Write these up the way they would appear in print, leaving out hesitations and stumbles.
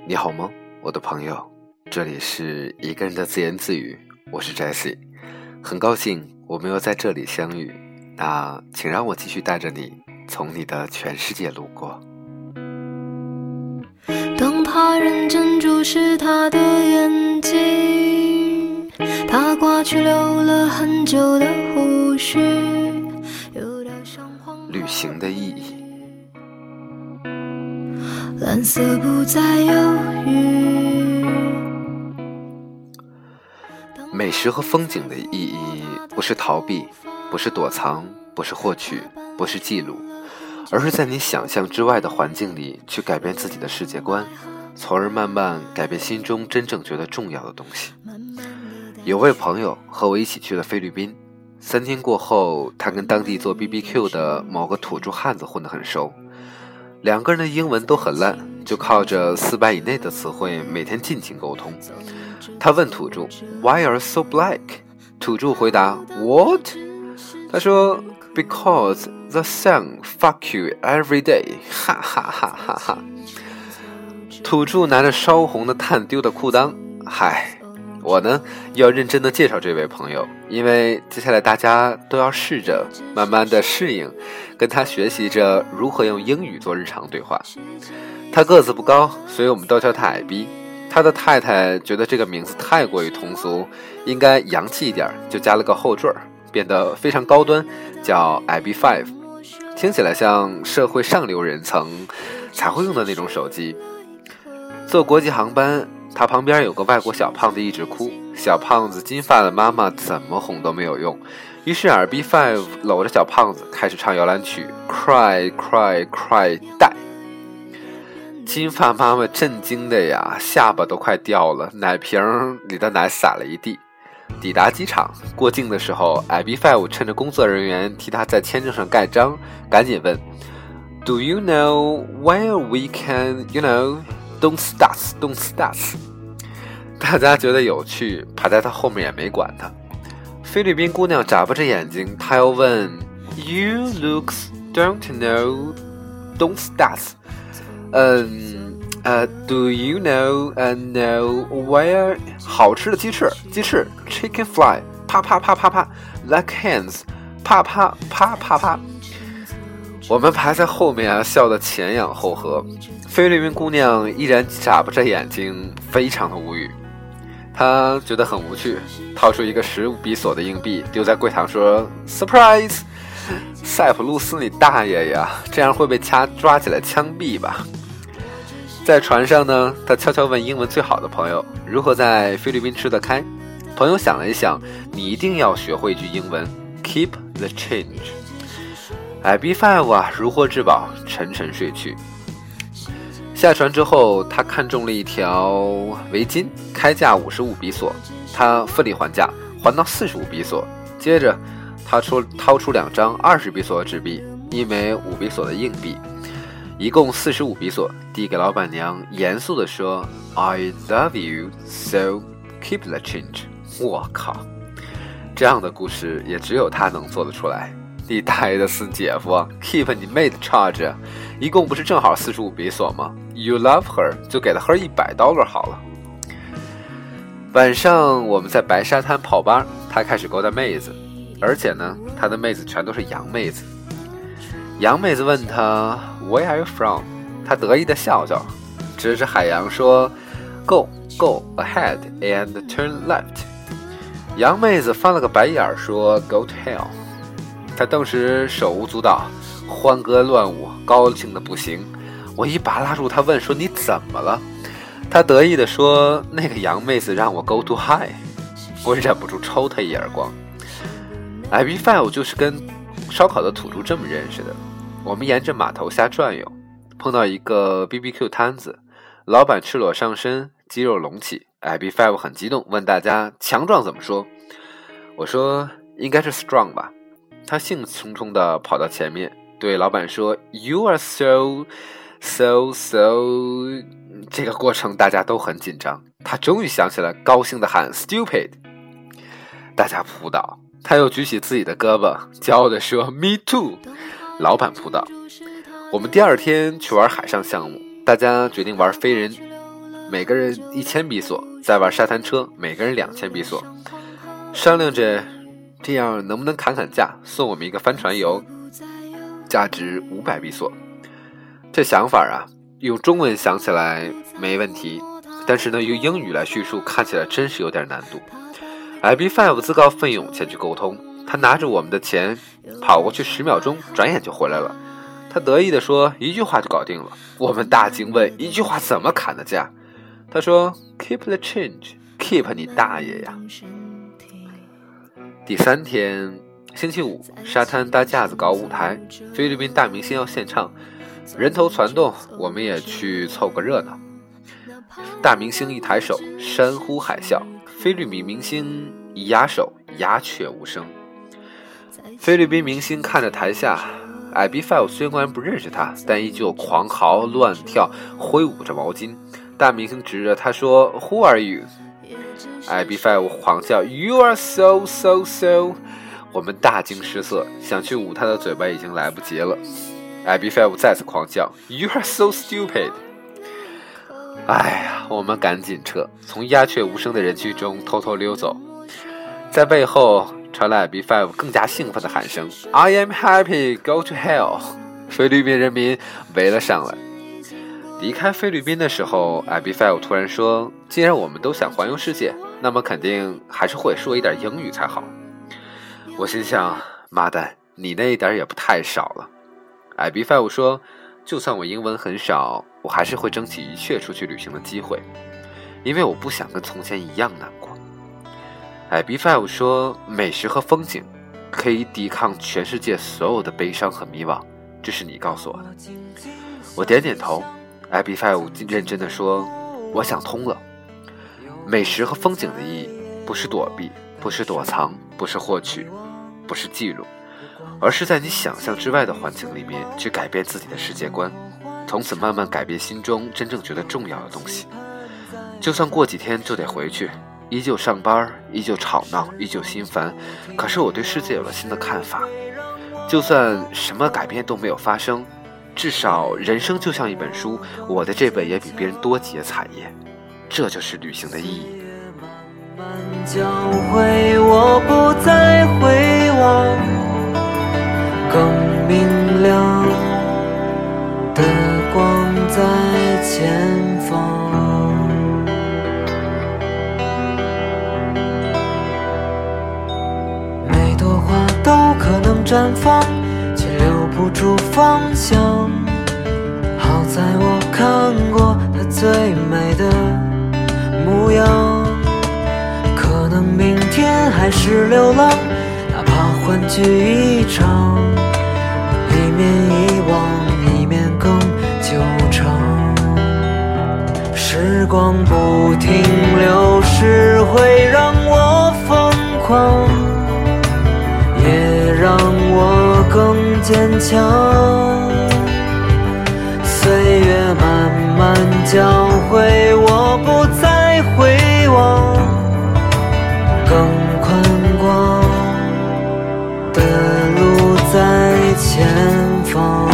你好吗，我的朋友？这里是一个人的自言自语，我是 Jessie， 很高兴我们又在这里相遇。那请让我继续带着你从你的全世界路过。 当他认真注视他的眼睛，他刮去留了很久的胡须，有点像黄花旅行的意义， 蓝色不再犹豫。 美食和风景的意义不是逃避，不是躲藏，不是获取，不是记录，而是在你想象之外的环境里去改变自己的世界观，从而慢慢改变心中真正觉得重要的东西。有位朋友和我一起去了菲律宾，3天过后，他跟当地做 BBQ 的某个土著汉子混得很熟，两个人的英文都很烂，就靠着400以内的词汇每天尽情沟通。他问土著 Why are you so black？ 土著回答 What？ 他说 Because the sun fuck you every day， 哈哈哈哈哈。土著拿着烧红的炭丢的裤裆。嗨，我呢要认真的介绍这位朋友，因为接下来大家都要试着慢慢的适应，跟他学习着如何用英语做日常对话。他个子不高，所以我们都叫他矮逼。他的太太觉得这个名字太过于通俗，应该洋气一点，就加了个后缀，变得非常高端，叫 IB5， 听起来像社会上流人层才会用的那种手机。坐国际航班，他旁边有个外国小胖子一直哭，小胖子金发的妈妈怎么哄都没有用，于是 IB5 搂着小胖子开始唱摇篮曲 Cry Cry Cry Die。金发妈妈震惊的呀，下巴都快掉了，奶瓶里的奶洒了一地。抵达机场，过境的时候 IB5 趁着工作人员替他在签证上盖章，赶紧问 Do you know where we can, don't start。 大家觉得有趣，排在他后面也没管他。菲律宾姑娘眨巴着眼睛，她又问 You looks don't know don't start。Do you know where 好吃的鸡翅 chicken fly 啪啪啪啪啪 like hands 啪啪啪啪啪。我们排在后面啊，笑得前仰后合。菲律宾姑娘依然眨巴着眼睛，非常的无语。她觉得很无趣，掏出一个15比索的硬币丢在柜台说 Surprise。 塞浦路斯你大爷呀，这样会被抓起来枪毙吧。在船上呢，他悄悄问英文最好的朋友如何在菲律宾吃得开。朋友想了一想，你一定要学会一句英文 Keep the change。 IB5 啊，如获至宝，沉沉睡去。下船之后，他看中了一条围巾，开价55比索，他奋力还价，还到45比索。接着他掏出2张20比索的纸币，一枚5比索的硬币，一共45比索，递给老板娘，严肃地说 I love you, so keep the change。 我靠，这样的故事也只有他能做得出来。你大爷的死姐夫啊， keep 你妹的 charge， 一共不是正好45比索吗？ You love her 就给了 her $100好了。晚上我们在白沙滩泡吧，他开始勾搭妹子，而且呢，他的妹子全都是洋妹子。洋妹子问他 Where are you from？ 他得意的笑笑，指着海洋说 Go ahead and turn left。 洋妹子翻了个白眼说 Go to hell。 他当时手舞足蹈，欢歌乱舞，高兴的不行。我一把拉住他问说你怎么了？他得意的说那个洋妹子让我 Go to high。 我忍不住抽他一耳光。 IB5 就是跟烧烤的土著这么认识的。我们沿着码头下转悠，碰到一个 BBQ 摊子，老板赤裸上身，肌肉隆起。 IB5 很激动，问大家强壮怎么说。我说应该是 strong 吧。他兴冲冲地跑到前面，对老板说 You are so。 这个过程大家都很紧张。他终于想起来，高兴地喊 stupid。 大家扑倒。他又举起自己的胳膊，骄傲地说 Me too。 老板扑倒。我们第2天去玩海上项目，大家决定玩飞人每个人1000比索，再玩沙滩车，每个人2000比索，商量着这样能不能砍价，送我们一个帆船游，价值500比索。这想法啊，用中文想起来没问题，但是呢，用英语来叙述看起来真是有点难度。IB5 自告奋勇前去沟通，他拿着我们的钱跑过去10秒钟，转眼就回来了。他得意地说一句话就搞定了。我们大惊问一句话怎么砍的价？他说 Keep the change， Keep 你大爷呀。第3天星期五，沙滩搭架子搞舞台，菲律宾大明星要献唱，人头攒动，我们也去凑个热闹。大明星一抬手，山呼海啸，菲律宾明星一压手，鸦雀无声。菲律宾明星看着台下，IB5 虽然不认识他，但依旧狂嚎乱跳，挥舞着毛巾。大明星指着他说 Who are you？ IB5 狂叫 You are so so so。 我们大惊失色，想去捂他的嘴巴已经来不及了。IB5 再次狂叫 You are so stupid。 哎呀，我们赶紧撤，从鸦雀无声的人群中偷偷溜走。在背后传来 IB5 更加兴奋的喊声 I am happy, go to hell。 菲律宾人民围了上来。离开菲律宾的时候， IB5 突然说，既然我们都想环游世界，那么肯定还是会说一点英语才好。我心想，妈蛋，你那一点也不太少了。 IB5 说，就算我英文很少，我还是会争取一切出去旅行的机会，因为我不想跟从前一样难过。IB5 说，美食和风景可以抵抗全世界所有的悲伤和迷惘，这是你告诉我的。我点点头。IB5 认真地说，我想通了，美食和风景的意义不是躲避，不是躲藏，不是获取，不是记录，而是在你想象之外的环境里面去改变自己的世界观，从此慢慢改变心中真正觉得重要的东西。就算过几天就得回去，依旧上班，依旧吵闹，依旧心烦，可是我对世界有了新的看法。就算什么改变都没有发生，至少人生就像一本书，我的这本也比别人多几页彩页，这就是旅行的意义。 慢慢教会我不再回望，更明亮的光在前方。每朵花都可能绽放，却留不住方向。好在我看过它最美的模样，可能明天还是流浪，哪怕欢聚一场，一面遗忘，一面更久长。时光不停流逝，会让我疯狂，也让我更坚强。岁月慢慢教会我不再回望，更宽广的路在前方。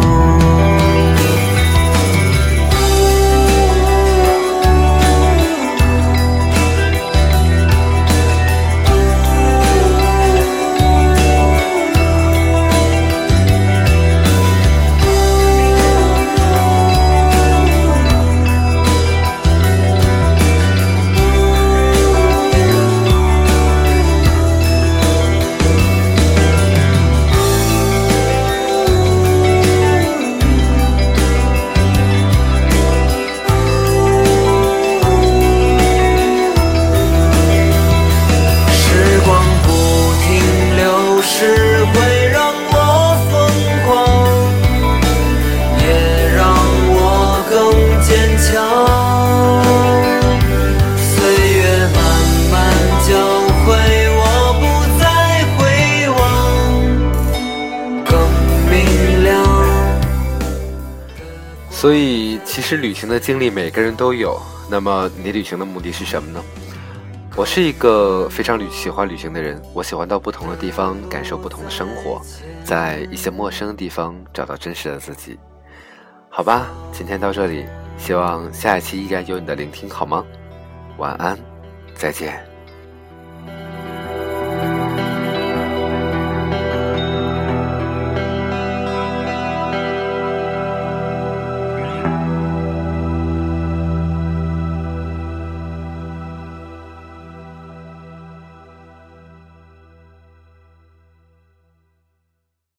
所以其实旅行的经历每个人都有，那么你旅行的目的是什么呢？我是一个非常喜欢旅行的人，我喜欢到不同的地方感受不同的生活，在一些陌生的地方找到真实的自己。好吧，今天到这里， 希望下一期依然有你的聆听，好吗？晚安，再见。